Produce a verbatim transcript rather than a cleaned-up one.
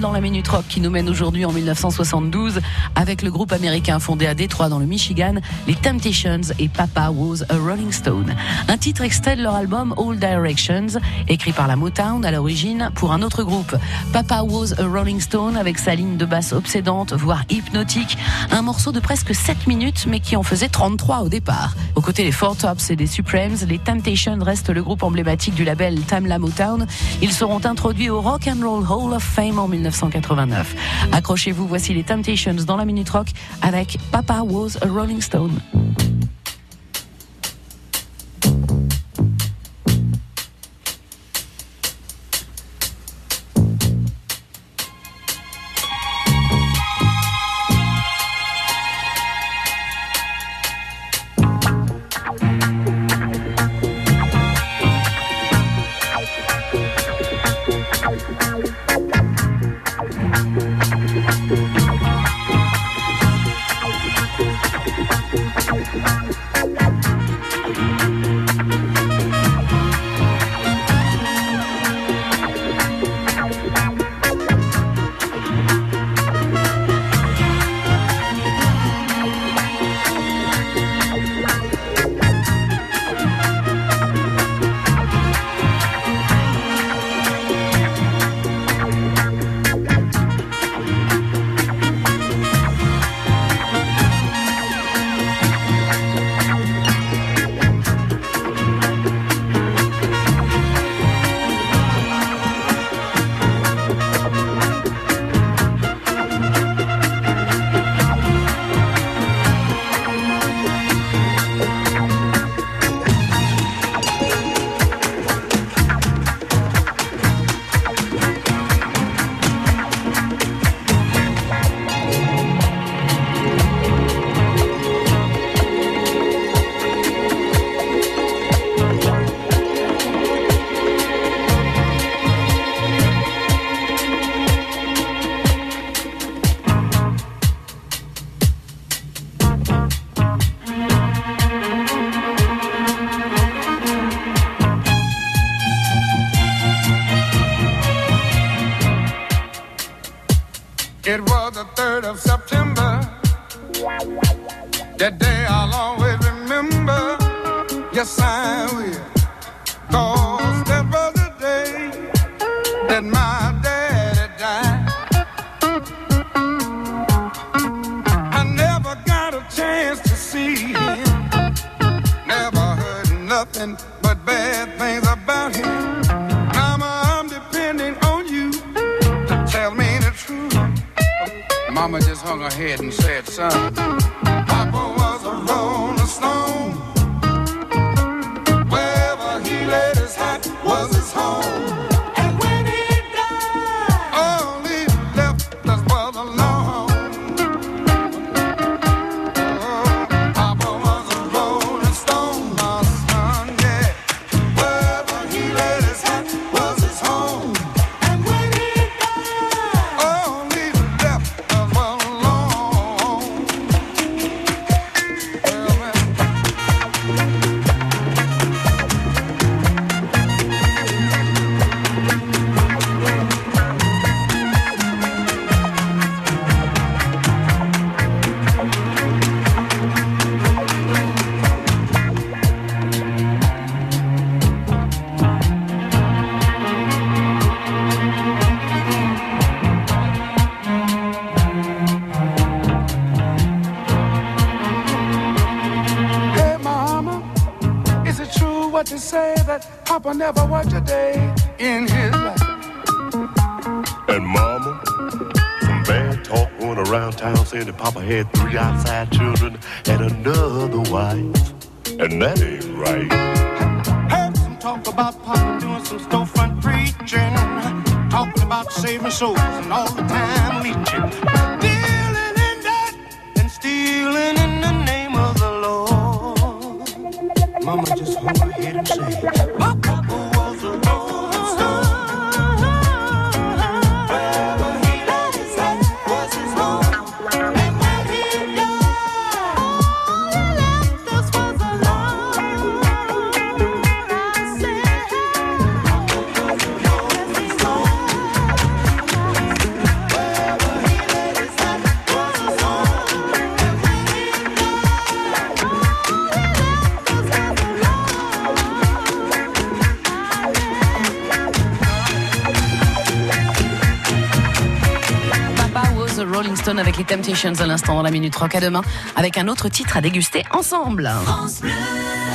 dans la Minute Rock qui nous mène aujourd'hui en dix-neuf cent soixante-douze avec le groupe américain fondé à Détroit dans le Michigan, les Temptations et Papa Was a Rolling Stone. Un titre extrait de leur album All Directions, écrit par la Motown à l'origine pour un autre groupe. Papa Was a Rolling Stone avec sa ligne de basse obsédante, voire hypnotique, un morceau de presque sept minutes mais qui en faisait trente-trois au départ. Aux côtés des Four Tops et des Supremes, les Temptations restent le groupe emblématique du label Tamla Motown. Ils seront introduits au Rock and Roll Hall of Fame en dix-neuf cent quatre-vingt-neuf. Accrochez-vous, voici les Temptations dans la Minute Rock avec Papa Was a Rolling Stone. It was the third of September. That day I'll always remember. Yes, I will. 'Cause that was the day that my daddy died. I never got a chance to see him. Never heard nothing but bad things about him. Mama, I'm depending on you to tell me the truth. Mama just hung her head and said, son, Papa was a rolling stone. Wherever he laid his hat was his home. And when he died, all he left us was alone. Oh, Papa was a rolling stone, my son, yeah. Wherever he laid his hat was his home. And when he died, all he left us was alone. Well, well. Hey, Mama, is it true what they say that Papa never worked a day in his life? And Mama, some bad talk going around town saying that Papa had three outside children and another wife. And that ain't right. Heard some talk about Papa doing some storefront preaching, talking about saving souls and all the time leeching, dealing in that and stealing in the name of the Lord. Mama just hung her head and said, Papa was a rolling stone. Wherever he laid his hat was his home. And when he died, all he left us was alone. I said, Papa was a rolling stone. The Rolling Stones avec les Temptations à l'instant dans la Minute Rock. À demain avec un autre titre à déguster ensemble. France Bleu.